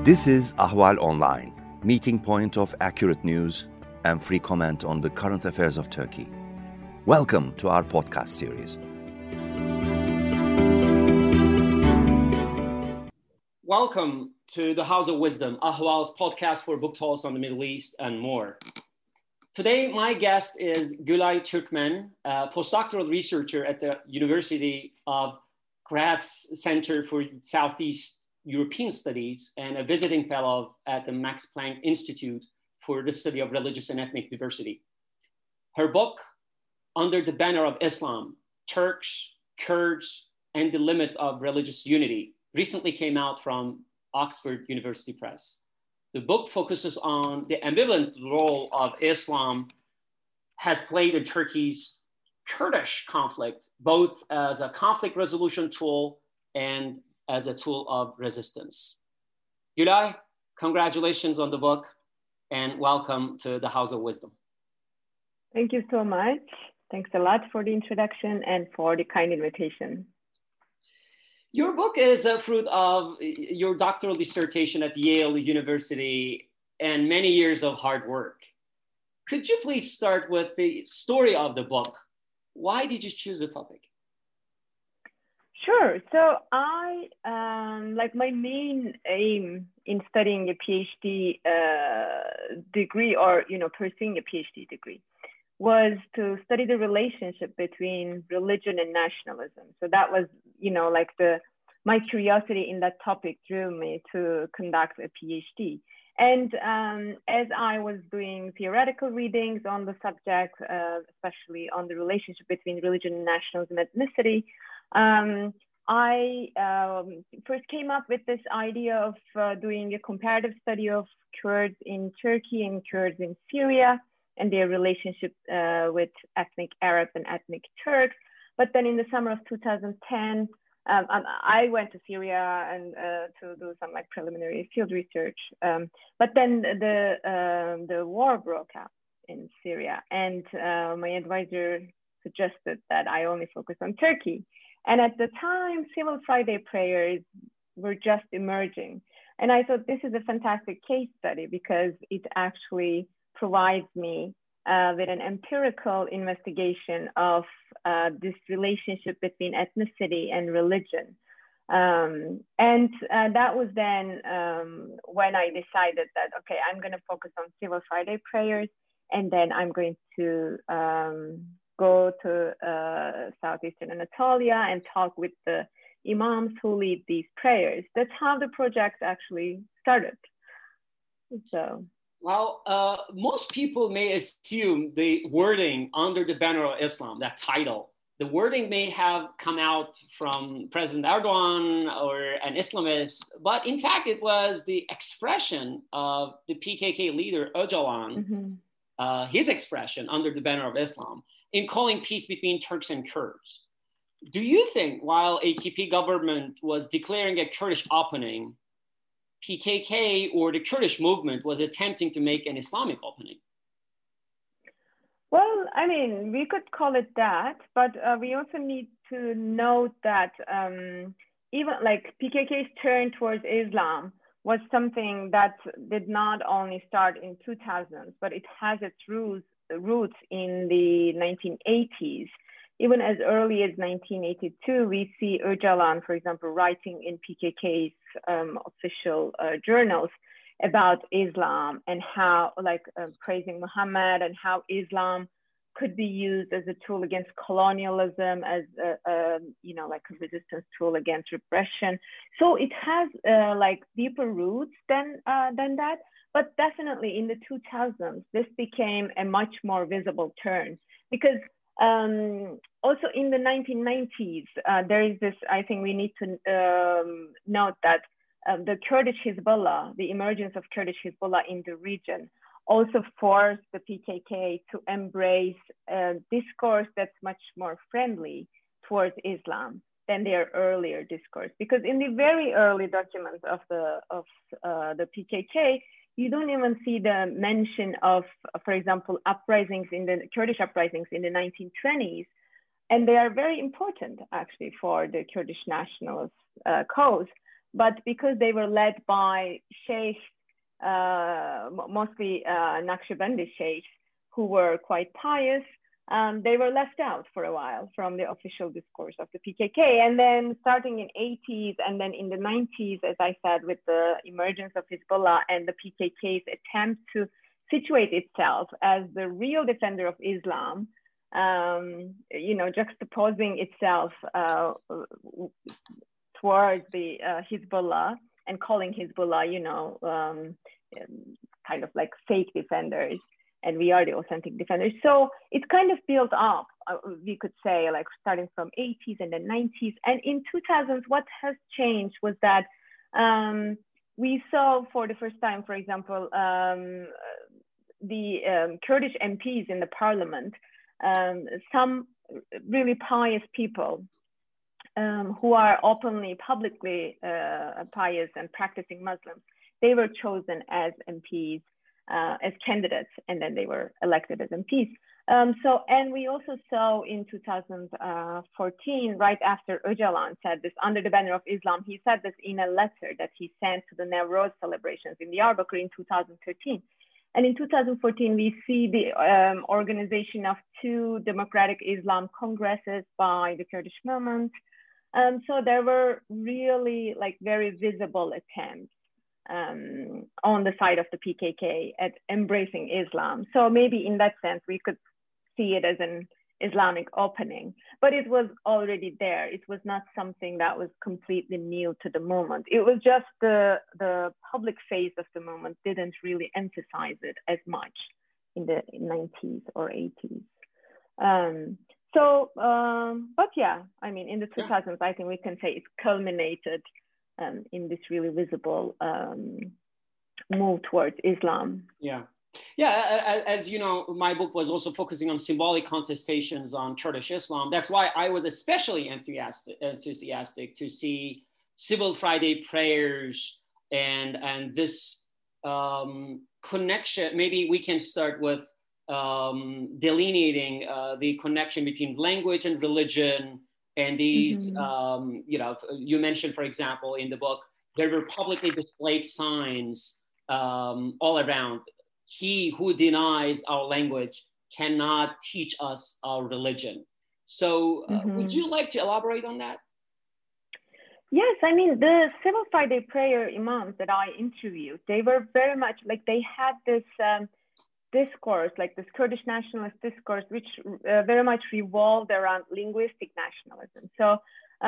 This is Ahval Online, meeting point of accurate news and free comment on the current affairs of Turkey. Welcome to our podcast series. Welcome to the House of Wisdom, Ahval's podcast for book talks on the Middle East and more. Today, my guest is Gülay Türkmen, a postdoctoral researcher at the University of Graz Center for Southeast European Studies and a visiting fellow at the Max Planck Institute for the Study of Religious and Ethnic Diversity. Her book, Under the Banner of Islam, Turks, Kurds, and the Limits of Religious Unity, recently came out from Oxford University Press. The book focuses on the ambivalent role of Islam has played in Turkey's Kurdish conflict, both as a conflict resolution tool and as a tool of resistance. Gülay, congratulations on the book and welcome to the House of Wisdom. Thank you so much. Thanks a lot for the introduction and for the kind invitation. Your book is a fruit of your doctoral dissertation at Yale University and many years of hard work. Could you please start with the story of the book? Why did you choose the topic? Sure. So my main aim in studying a PhD degree or, pursuing a PhD degree was to study the relationship between religion and nationalism. So that was, my curiosity in that topic drew me to conduct a PhD. And as I was doing theoretical readings on the subject, especially on the relationship between religion and nationalism and ethnicity, I first came up with this idea of doing a comparative study of Kurds in Turkey and Kurds in Syria and their relationship with ethnic Arabs and ethnic Turks. But then in the summer of 2010, I went to Syria and to do some preliminary field research. But then the war broke out in Syria, and my advisor suggested that I only focus on Turkey. And at the time, Civil Friday prayers were just emerging. And I thought this is a fantastic case study because it actually provides me with an empirical investigation of this relationship between ethnicity and religion. And that was then when I decided that, okay, I'm going to focus on Civil Friday prayers, and then I'm going to go to Southeastern Anatolia and talk with the imams who lead these prayers. That's how the project actually started. So. Well, most people may assume the wording Under the Banner of Islam, that title, the wording may have come out from President Erdogan or an Islamist, but in fact, it was the expression of the PKK leader Öcalan, his expression Under the Banner of Islam, in calling peace between Turks and Kurds. Do you think while AKP government was declaring a Kurdish opening, PKK or the Kurdish movement was attempting to make an Islamic opening? Well, we could call it that, but we also need to note that even PKK's turn towards Islam was something that did not only start in 2000s, but it has its roots in the 1980s. Even as early as 1982, we see Öcalan, for example, writing in PKK's official journals about Islam and how, praising Muhammad and how Islam could be used as a tool against colonialism, as a resistance tool against repression. So it has deeper roots than that. But definitely in the 2000s, this became a much more visible turn because also in the 1990s, there is this, I think we need to note that the Kurdish Hezbollah, the emergence of Kurdish Hezbollah in the region also forced the PKK to embrace a discourse that's much more friendly towards Islam than their earlier discourse. Because in the very early documents of the PKK, you don't even see the mention of, for example, Kurdish uprisings in the 1920s. And they are very important, actually, for the Kurdish nationalist cause. but because they were led by sheikhs, mostly Naqshbandi sheikhs, who were quite pious, they were left out for a while from the official discourse of the PKK. And then starting in 80s and then in the 90s, as I said, with the emergence of Hezbollah and the PKK's attempt to situate itself as the real defender of Islam, juxtaposing itself towards the Hezbollah and calling Hezbollah, kind of like fake defenders, and we are the authentic defenders. So it's kind of built up, we could say, like starting from 80s and then 90s. And in 2000s, what has changed was that we saw for the first time, for example, the Kurdish MPs in the parliament, some really pious people who are openly, publicly pious and practicing Muslims, they were chosen as MPs, as candidates, and then they were elected as MPs. And we also saw in 2014, right after Öcalan said this, under the banner of Islam, he said this in a letter that he sent to the Nowruz celebrations in Diyarbakir in 2013. And in 2014, we see the organization of 2 Democratic Islam Congresses by the Kurdish movement. So there were really like very visible attempts on the side of the PKK at embracing Islam. So maybe in that sense, we could see it as an Islamic opening, but it was already there. It was not something that was completely new to the movement. It was just the public face of the movement didn't really emphasize it as much in the 90s or 80s. But yeah, I mean, in the 2000s, I think we can say it culminated in this really visible move towards Islam. Yeah, as you know, my book was also focusing on symbolic contestations on Kurdish Islam. That's why I was especially enthusiastic to see Civil Friday prayers and this connection. Maybe we can start with delineating the connection between language and religion. And these, you mentioned, for example, in the book, there were publicly displayed signs all around. He who denies our language cannot teach us our religion. So would you like to elaborate on that? Yes, I mean, the Civil Friday prayer imams that I interviewed, they were very much like, they had this discourse, like this Kurdish nationalist discourse, which very much revolved around linguistic nationalism. So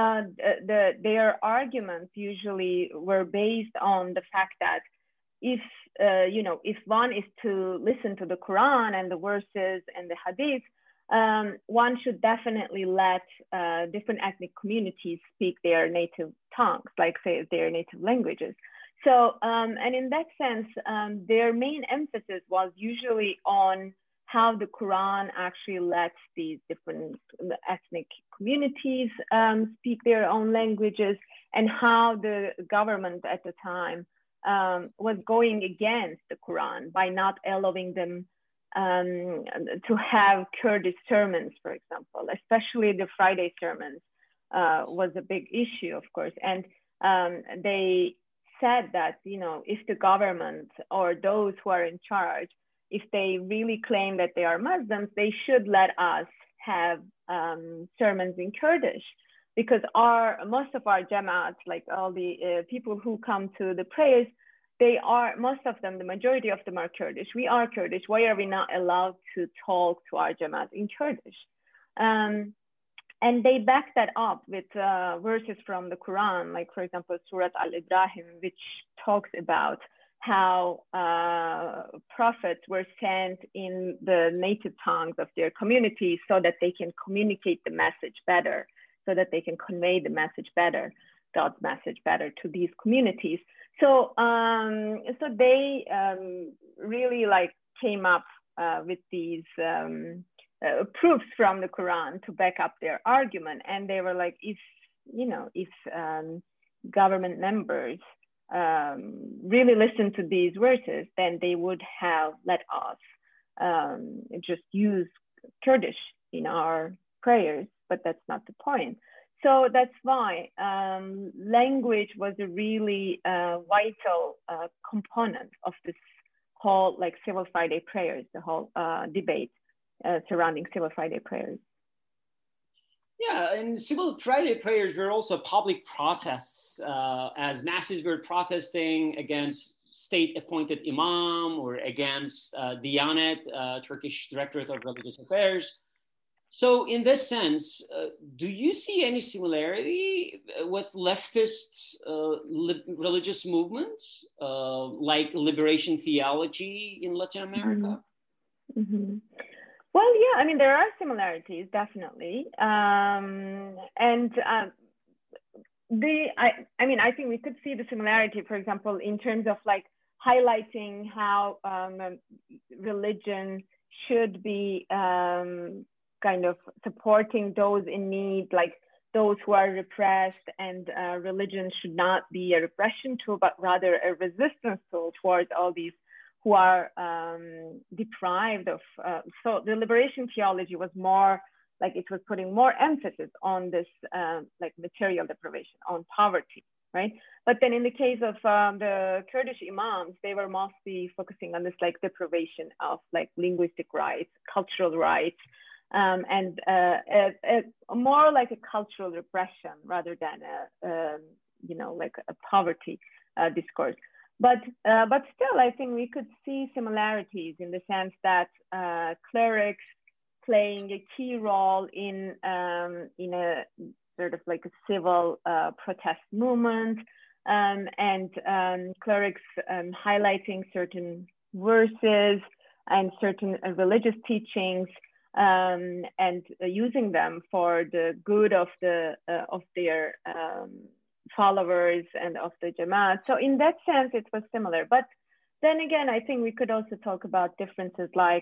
their arguments usually were based on the fact that if one is to listen to the Quran and the verses and the Hadith, one should definitely let different ethnic communities speak their native tongues, like say their native languages. So, and in that sense, their main emphasis was usually on how the Quran actually lets these different ethnic communities speak their own languages, and how the government at the time was going against the Quran by not allowing them to have Kurdish sermons, for example, especially the Friday sermons was a big issue, of course. And they said that, if the government or those who are in charge, if they really claim that they are Muslims, they should let us have sermons in Kurdish, because most of our Jamaat, like all the people who come to the prayers, most of them, the majority of them are Kurdish. We are Kurdish. Why are we not allowed to talk to our Jamaat in Kurdish? And they back that up with verses from the Quran, like, for example, Surat Al-Ibrahim, which talks about how prophets were sent in the native tongues of their communities so that they can communicate the message better, so that they can convey the message better, God's message better to these communities. So, so they really came up with these proofs from the Quran to back up their argument. And they were like, if government members really listen to these verses, then they would have let us just use Kurdish in our prayers, but that's not the point. So that's why language was a really vital component of this whole like Civil Friday prayers, the whole debate surrounding Civil Friday prayers. Yeah, and Civil Friday prayers were also public protests, as masses were protesting against state-appointed imam or against Diyanet, Turkish Directorate of Religious Affairs. So in this sense, do you see any similarity with leftist religious movements like liberation theology in Latin America? Mm-hmm. Mm-hmm. Well, yeah, I mean, there are similarities, definitely. I think we could see the similarity, for example, in terms of like highlighting how religion should be kind of supporting those in need, like those who are repressed, and religion should not be a repression tool, but rather a resistance tool towards all these who are deprived of. So the liberation theology was more like it was putting more emphasis on this like material deprivation, on poverty, right? But then in the case of the Kurdish imams, they were mostly focusing on this like deprivation of like linguistic rights, cultural rights, and more like a cultural repression rather than like a poverty discourse. But still, I think we could see similarities in the sense that clerics playing a key role in a sort of like a civil protest movement, and clerics highlighting certain verses and certain religious teachings, and using them for the good of their followers and of the Jamaat. So in that sense, it was similar. But then again, I think we could also talk about differences like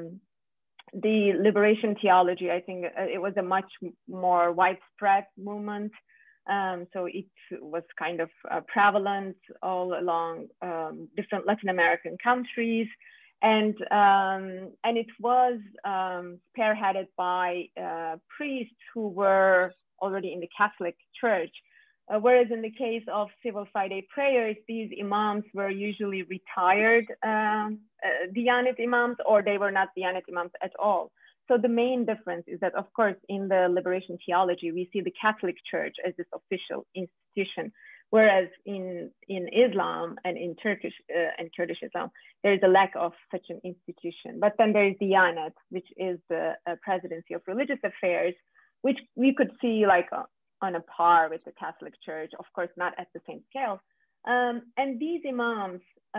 the liberation theology. I think it was a much more widespread movement. So it was kind of prevalent all along different Latin American countries. And it was spearheaded by priests who were already in the Catholic Church. Whereas in the case of Civil Friday prayers, these imams were usually retired Diyanet imams, or they were not Diyanet imams at all. So the main difference is that, of course, in the liberation theology, we see the Catholic Church as this official institution, whereas in Islam and in Turkish and Kurdish Islam, there is a lack of such an institution. But then there is Diyanet, which is the Presidency of Religious Affairs, which we could see like on a par with the Catholic Church, of course, not at the same scale. And these imams,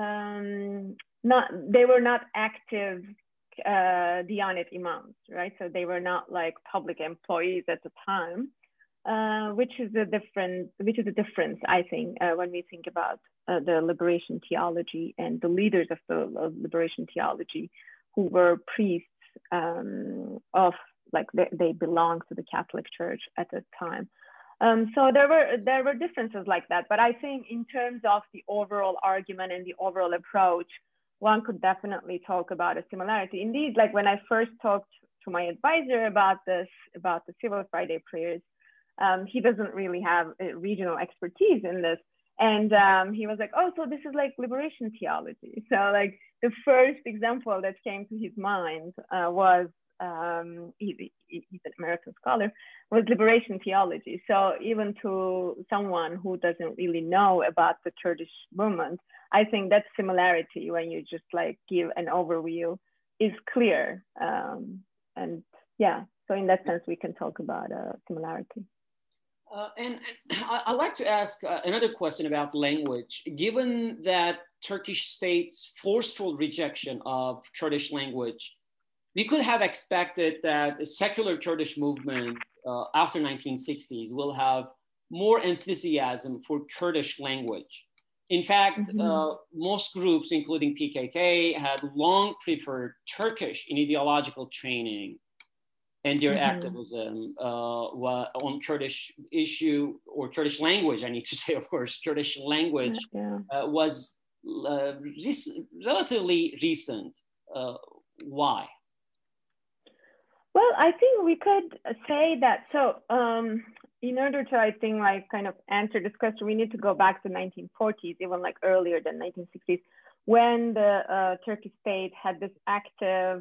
they were not active Diyanet imams, right? So they were not like public employees at the time, which is a difference, I think, when we think about the liberation theology and the leaders of the liberation theology, who were priests of like they belonged to the Catholic Church at the time. So there were differences like that, but I think in terms of the overall argument and the overall approach, one could definitely talk about a similarity. Indeed, like when I first talked to my advisor about the Civil Friday prayers, he doesn't really have regional expertise in this, and he was like, "Oh, so this is like liberation theology." So like the first example that came to his mind was. He's an American scholar, was liberation theology. So even to someone who doesn't really know about the Kurdish movement, I think that similarity, when you just like give an overview, is clear. And yeah, so in that sense, we can talk about similarity. And I'd like to ask another question about language. Given that Turkish state's forceful rejection of Kurdish language, we could have expected that a secular Kurdish movement after 1960s will have more enthusiasm for Kurdish language. In fact, most groups, including PKK, had long preferred Turkish in ideological training and their activism on Kurdish issue, or Kurdish language, I need to say, of course, Kurdish language was relatively recent. Why? Well, I think we could say that. So in order to, I think, like kind of answer this question, we need to go back to 1940s, even like earlier than 1960s, when the Turkish state had this active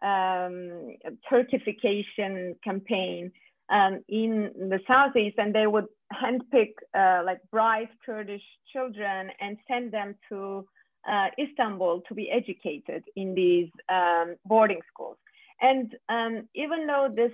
Turkification campaign in the Southeast, and they would handpick like bright Kurdish children and send them to Istanbul to be educated in these boarding schools. And even though this,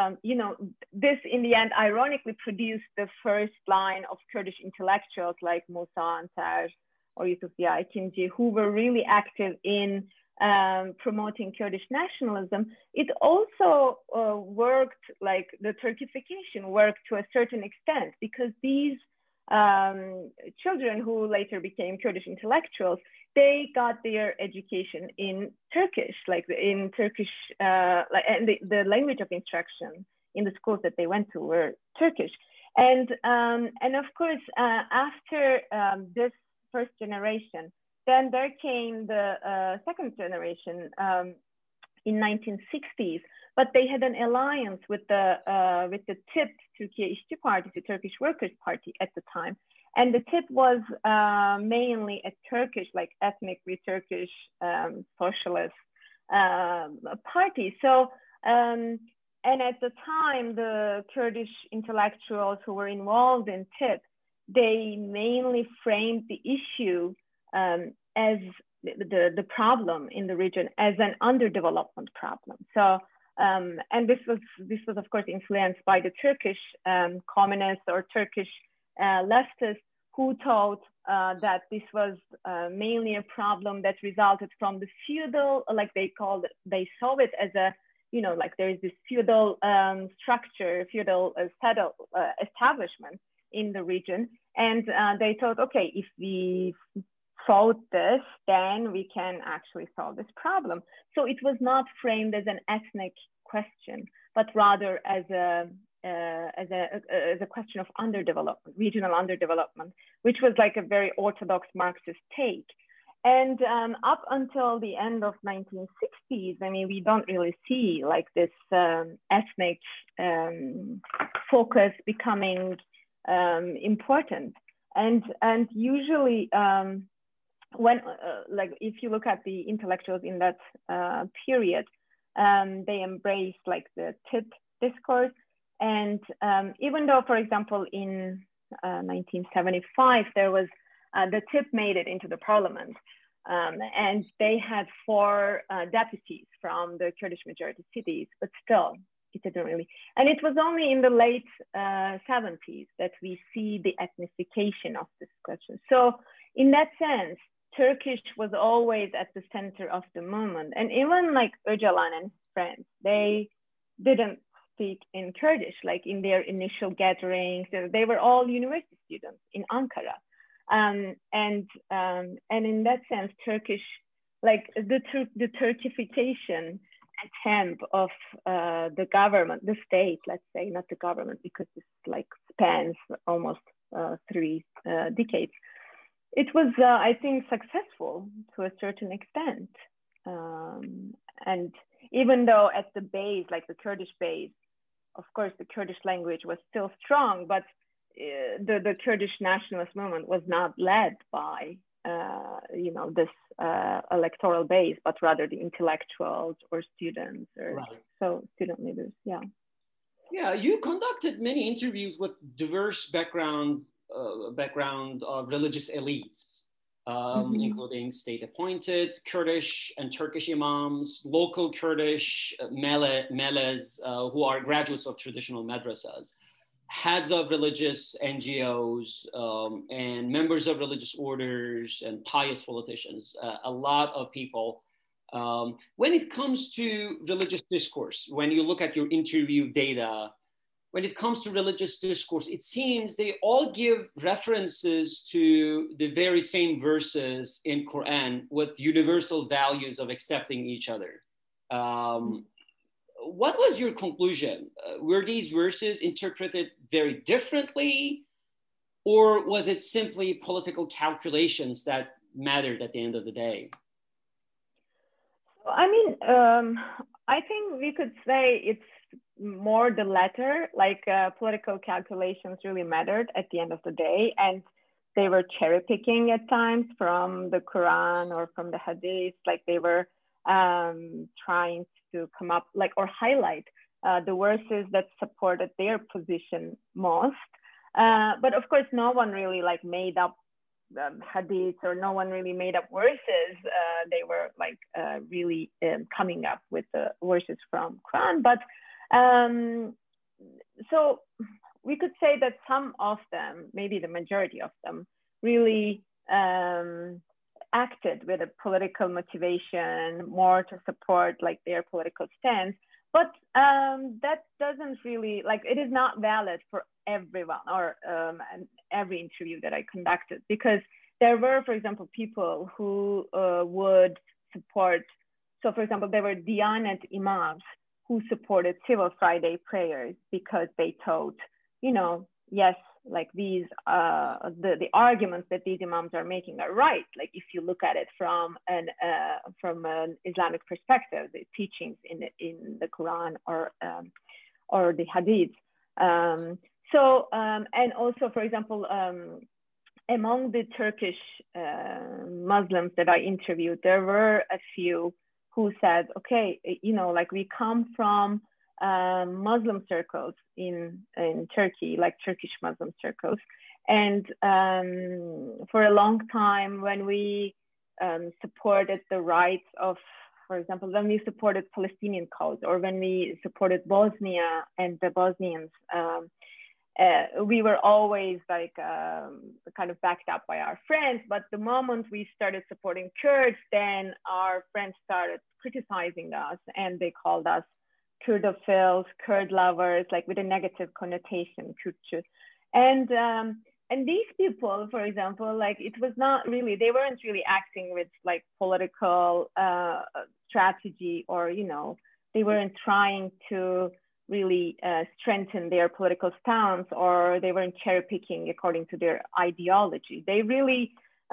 this in the end ironically produced the first line of Kurdish intellectuals like Musa Antar or Yusuf Ziya Ekinci, who were really active in promoting Kurdish nationalism, it also worked, like the Turkification worked to a certain extent, because these children who later became Kurdish intellectuals, they got their education in Turkish, like in Turkish, and the language of instruction in the schools that they went to were Turkish. And of course, after this first generation, then there came the second generation in 1960s, but they had an alliance with the TİP, Türkiye İşçi Partisi, the Turkish Workers' Party at the time. And the TİP was mainly a Turkish, like ethnically Turkish socialist party. So, and at the time, the Kurdish intellectuals who were involved in TİP, they mainly framed the issue as the problem in the region as an underdevelopment problem. So, and this was of course influenced by the Turkish communists or Turkish leftists, who thought that this was mainly a problem that resulted from the feudal, like they saw it as a, like there is this feudal structure, feudal establishment in the region. And they thought, okay, if we solve this, then we can actually solve this problem. So it was not framed as an ethnic question, but rather as a question of underdevelopment, regional underdevelopment, which was like a very orthodox Marxist take. And up until the end of 1960s, I mean, we don't really see like this ethnic focus becoming important. And usually when like if you look at the intellectuals in that period, they embraced like the TİP discourse. And even though, for example, in 1975, there was the TİP made it into the parliament, and they had 4 deputies from the Kurdish majority cities, but still it didn't really. And it was only in the late 70s that we see the ethnification of this question. So in that sense, Turkish was always at the center of the movement. And even like Öcalan and his friends, they didn't speak in Kurdish, like in their initial gatherings. They were all university students in Ankara. And in that sense, Turkish, like the Turkification attempt of the government, the state, let's say, not the government, because this like spans almost 3 decades. It was, I think, successful to a certain extent. And even though at the base, like the Kurdish base, of course, the Kurdish language was still strong, but the Kurdish nationalist movement was not led by, this electoral base, but rather the intellectuals or students or student leaders. Yeah. Yeah, you conducted many interviews with diverse background of religious elites, including state-appointed Kurdish and Turkish imams, local Kurdish meles who are graduates of traditional madrasas, heads of religious NGOs, and members of religious orders and pious politicians, a lot of people. When it comes to religious discourse, when you look at your interview data, when it comes to religious discourse, it seems they all give references to the very same verses in Quran with universal values of accepting each other. What was your conclusion? Were these verses interpreted very differently, or was it simply political calculations that mattered at the end of the day? I mean, I think we could say it's more the latter, like political calculations really mattered at the end of the day. And they were cherry picking at times from the Quran or from the Hadith, like they were trying to come up like or highlight the verses that supported their position most. But of course, no one really like made up hadiths, or no one really made up verses. They were like really coming up with the verses from Quran. But so we could say that some of them, maybe the majority of them, really acted with a political motivation, more to support like their political stance. But that doesn't really, like, it is not valid for everyone or every interview that I conducted, because there were, for example, people who would support, so for example, there were Diyanet imams who supported Civil Friday prayers because they thought, you know, yes, like these, the arguments that these imams are making are right. Like if you look at it from an Islamic perspective, the teachings in the Quran or the Hadith. And also, for example, among the Turkish Muslims that I interviewed, there were a few who said, okay, you know, like we come from Muslim circles in Turkey, like Turkish Muslim circles. And for a long time, when we supported the rights of, for example, when we supported Palestinian cause, or when we supported Bosnia and the Bosnians, we were always like kind of backed up by our friends. But the moment we started supporting Kurds, then our friends started criticizing us, and they called us Kurdophiles, Kurd lovers, like with a negative connotation, Kürtçü. And these people, for example, like it was not really, they weren't really acting with like political strategy, or, you know, they weren't trying to really strengthen their political stance, or they weren't cherry picking according to their ideology. They really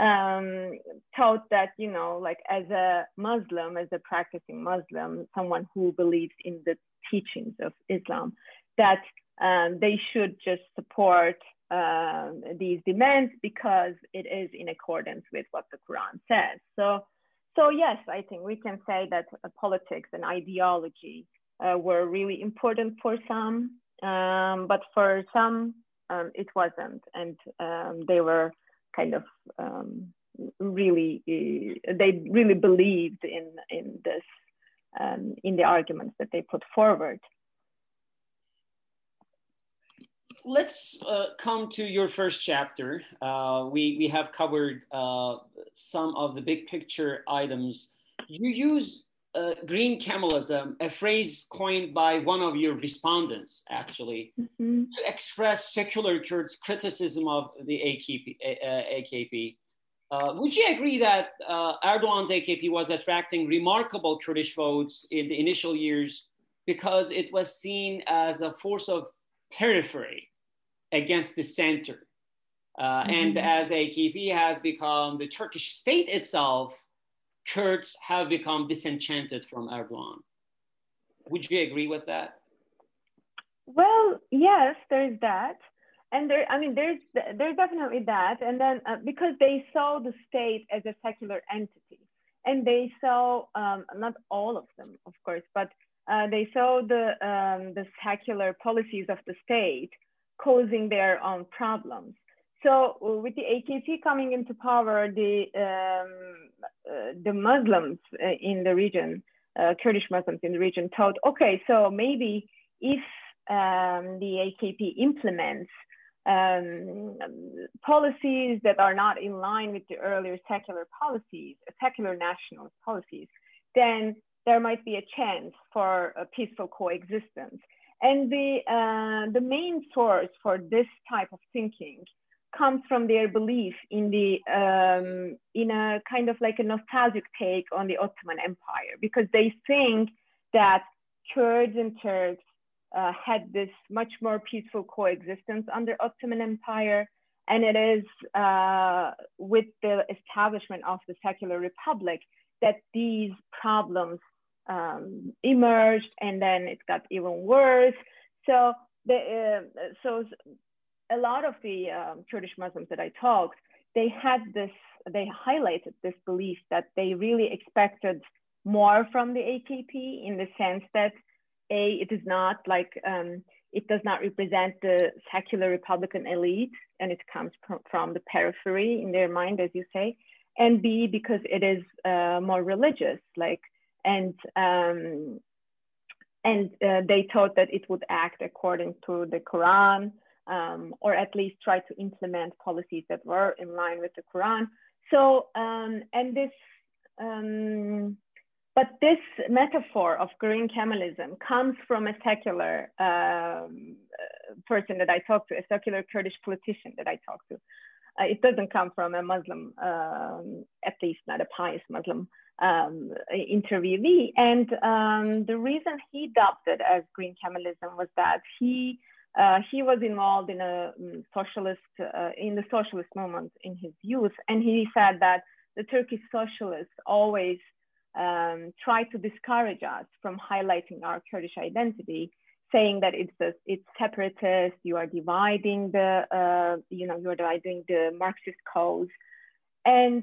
thought that, you know, like as a Muslim, as a practicing Muslim, someone who believes in the teachings of Islam, that they should just support these demands because it is in accordance with what the Quran says. So yes, I think we can say that politics and ideology were really important for some, but for some it wasn't, and they were kind of really, they really believed in this, in the arguments that they put forward. Let's come to your first chapter. We have covered some of the big picture items. You use green Kemalism, a phrase coined by one of your respondents, actually, to express secular Kurds' criticism of the AKP. Would you agree that Erdogan's AKP was attracting remarkable Kurdish votes in the initial years because it was seen as a force of periphery against the center? And as AKP has become the Turkish state itself, Kurds have become disenchanted from Erdogan. Would you agree with that? Well, yes, there's that. And there, I mean, there's definitely that. And then because they saw the state as a secular entity, and they saw, not all of them, of course, but they saw the secular policies of the state causing their own problems. So with the AKP coming into power, the Muslims in the region, Kurdish Muslims in the region, thought, okay, so maybe if the AKP implements policies that are not in line with the earlier secular policies, secular nationalist policies, then there might be a chance for a peaceful coexistence. And the main source for this type of thinking comes from their belief in the in a kind of like a nostalgic take on the Ottoman Empire, because they think that Kurds and Turks had this much more peaceful coexistence under Ottoman Empire, and it is with the establishment of the secular republic that these problems emerged, and then it got even worse. So so a lot of the Kurdish Muslims that I talked, they highlighted this belief that they really expected more from the AKP, in the sense that it is not like it does not represent the secular Republican elite, and it comes from the periphery in their mind, as you say, and B, because it is more religious, like, and they thought that it would act according to the Quran, or at least try to implement policies that were in line with the Quran. So, but this metaphor of green Kemalism comes from a secular person that I talked to, a secular Kurdish politician that I talked to. It doesn't come from a Muslim, at least not a pious Muslim interviewee. And the reason he dubbed it as green Kemalism was that he was involved in in the socialist movement in his youth, and he said that the Turkish socialists always try to discourage us from highlighting our Kurdish identity, saying that it's separatist, you are dividing you're dividing the Marxist cause, and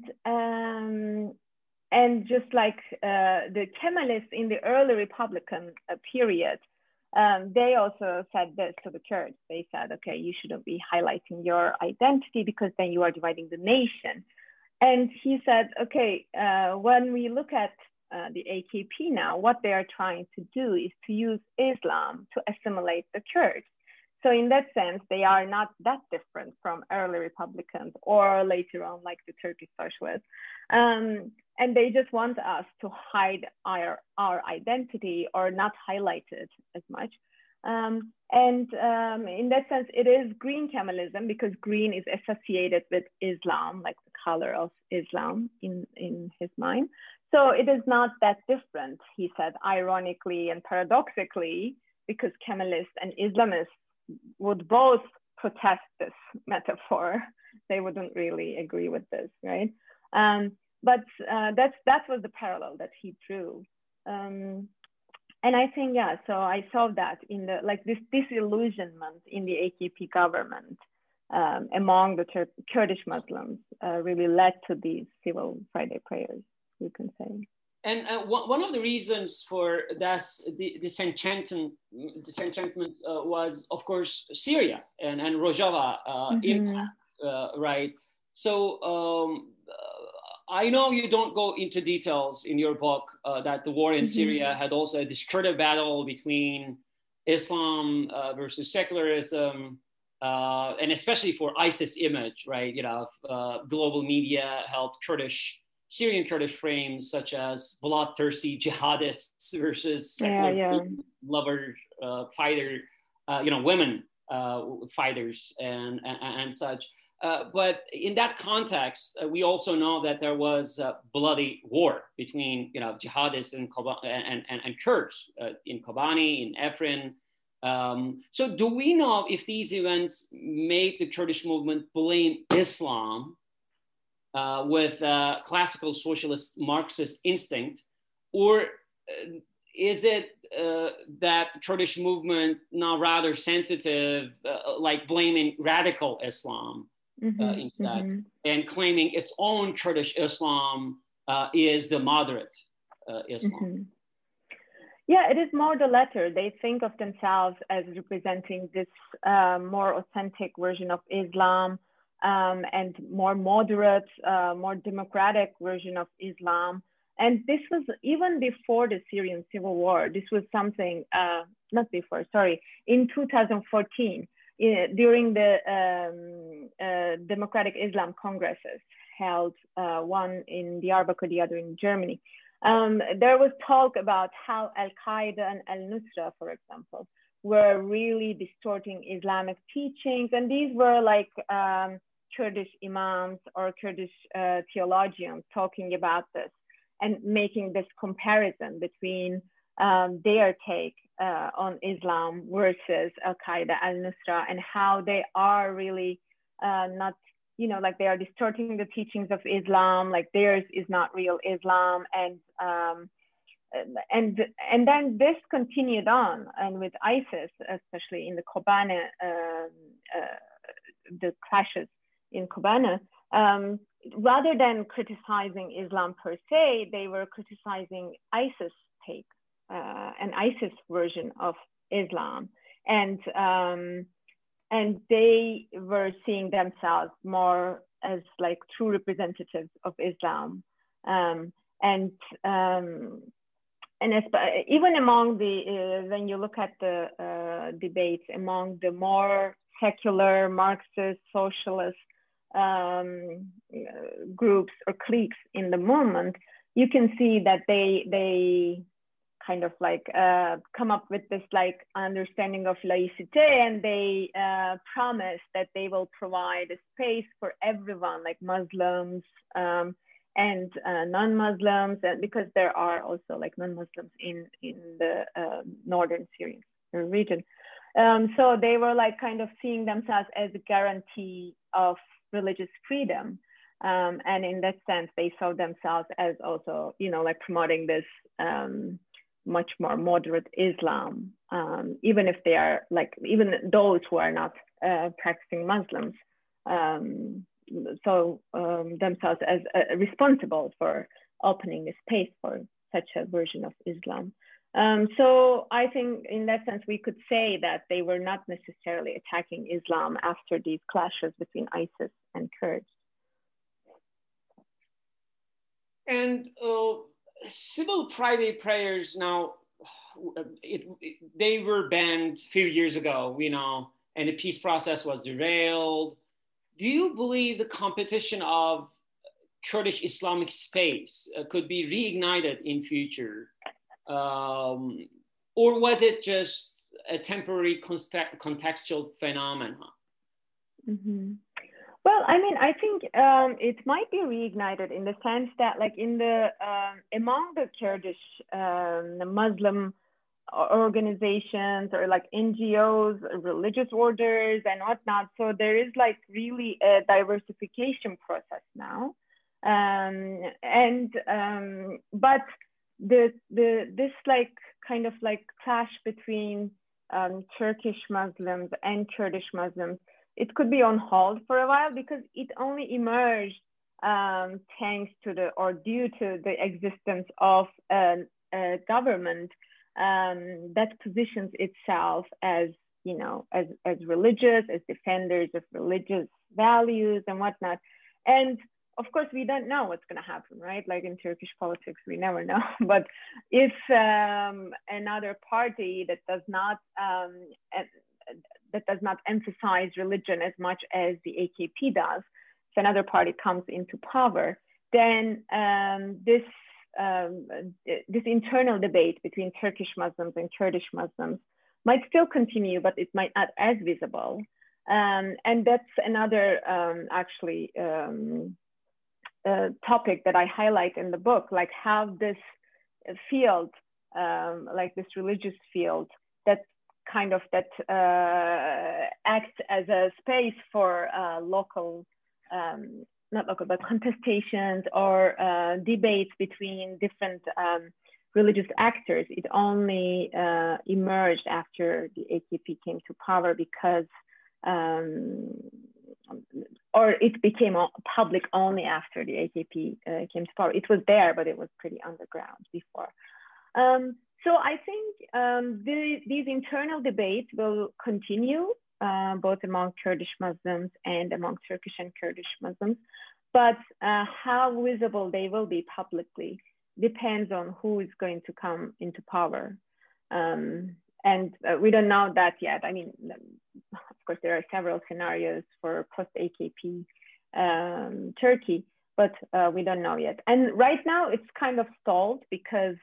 just like the Kemalists in the early Republican period. They also said this to the Kurds. They said, okay, you shouldn't be highlighting your identity because then you are dividing the nation. And he said, okay, when we look at the AKP now, what they are trying to do is to use Islam to assimilate the Kurds. So in that sense, they are not that different from early Republicans or later on, like the Turkish socialists. And they just want us to hide our identity or not highlight it as much. In that sense, it is green Kemalism because green is associated with Islam, like the color of Islam in his mind. So it is not that different, he said, ironically and paradoxically, because Kemalists and Islamists would both protest this metaphor. They wouldn't really agree with this, right? But that was the parallel that he drew. And I think, yeah, so I saw that in this disillusionment in the AKP government among the Kurdish Muslims really led to these civil Friday prayers, you can say. And one of the reasons for this disenchantment was, of course, Syria and Rojava impact, right? So I know you don't go into details in your book that the war in Syria had also a discursive battle between Islam versus secularism, and especially for ISIS image, right? Global media helped Syrian Kurdish frames such as bloodthirsty jihadists versus secular lover fighter, women fighters and such. But in that context, we also know that there was a bloody war between jihadists and Kurds in Kobani, in Afrin. So do we know if these events made the Kurdish movement blame Islam with classical socialist Marxist instinct, or is it that Kurdish movement now rather sensitive, like blaming radical Islam instead, and claiming its own Kurdish Islam is the moderate Islam? Yeah, it is more the latter. They think of themselves as representing this more authentic version of Islam, and more moderate, more democratic version of Islam. And this was even before the Syrian civil war. This was something, in 2014, during the Democratic Islam Congresses held, one in Diyarbakir, the other in Germany. There was talk about how Al-Qaeda and Al-Nusra, for example, were really distorting Islamic teachings. And these were like Kurdish imams or Kurdish theologians talking about this and making this comparison between their take on Islam versus Al-Qaeda, Al-Nusra, and how they are really not, like they are distorting the teachings of Islam, like theirs is not real Islam. And and then this continued on, and with ISIS, especially in the Kobane, the clashes in Kobane, rather than criticizing Islam per se, they were criticizing ISIS take, an ISIS version of Islam, and they were seeing themselves more as like true representatives of Islam, and even among the when you look at the debates among the more secular Marxist socialist groups or cliques in the movement, you can see that they kind of like come up with this like understanding of laïcité, and they promise that they will provide a space for everyone, like Muslims and non-Muslims, and because there are also like non-Muslims in the northern Syrian region. So they were like kind of seeing themselves as a guarantee of religious freedom. And in that sense, they saw themselves as also, you know, like promoting this much more moderate Islam, even if they are like, even those who are not practicing Muslims, themselves as responsible for opening the space for such a version of Islam. So I think in that sense, we could say that they were not necessarily attacking Islam after these clashes between ISIS and Kurds. And civil private prayers now, they were banned a few years ago, you know, and the peace process was derailed. Do you believe the competition of Kurdish Islamic space could be reignited in future? Or was it just a temporary contextual phenomenon? Mm-hmm. Well, I mean, I think it might be reignited in the sense that, like, in the among the Kurdish Muslim organizations or like NGOs, religious orders, and whatnot. So there is like really a diversification process now, but this like kind of like clash between Turkish Muslims and Kurdish Muslims, it could be on hold for a while because it only emerged thanks to due to the existence of a government that positions itself as, you know, as religious, as defenders of religious values and whatnot. And of course, we don't know what's going to happen, right? Like in Turkish politics, we never know. But if another party that does not emphasize religion as much as the AKP does, if another party comes into power, then this internal debate between Turkish Muslims and Kurdish Muslims might still continue, but it might not as visible. And that's another topic that I highlight in the book, like how this field, like this religious field, that acts as a space for not local, but contestations or debates between different religious actors. It only emerged after the AKP came to power because, or it became public only after the AKP came to power. It was there, but it was pretty underground before. So I think these internal debates will continue, both among Kurdish Muslims and among Turkish and Kurdish Muslims. But how visible they will be publicly depends on who is going to come into power. And we don't know that yet. I mean, of course, there are several scenarios for post-AKP Turkey, but we don't know yet. And right now it's kind of stalled because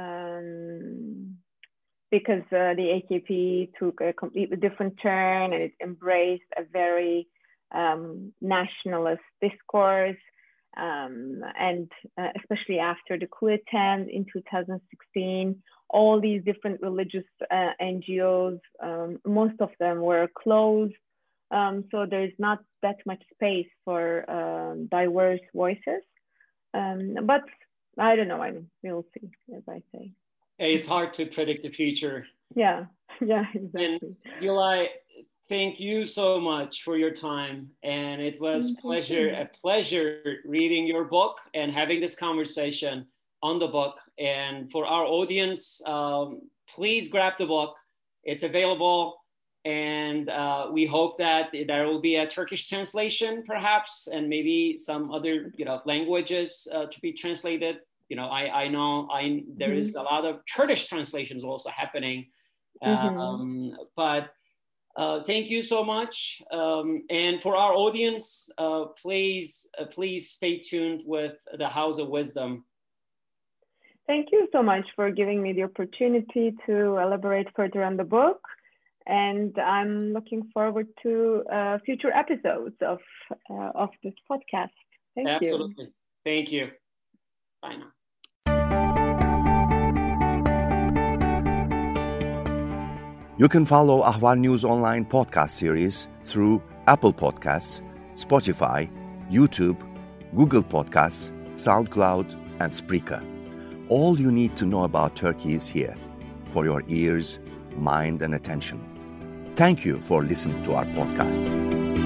the AKP took a completely different turn and it embraced a very nationalist discourse, and especially after the coup attempt in 2016, all these different religious NGOs, most of them were closed. So there's not that much space for diverse voices. But I don't know. We'll see, as I say. It's hard to predict the future. Yeah, exactly. And Gülay, thank you so much for your time. And it was a pleasure reading your book and having this conversation on the book. And for our audience, please grab the book. It's available. And we hope that there will be a Turkish translation, perhaps, and maybe some other, languages to be translated. I know there is a lot of Kurdish translations also happening. But thank you so much. And for our audience, please stay tuned with the House of Wisdom. Thank you so much for giving me the opportunity to elaborate further on the book. And I'm looking forward to future episodes of this podcast. Thank you. Absolutely. Thank you. Bye now. You can follow Ahval News Online podcast series through Apple Podcasts, Spotify, YouTube, Google Podcasts, SoundCloud, and Spreaker. All you need to know about Turkey is here for your ears, mind, and attention. Thank you for listening to our podcast.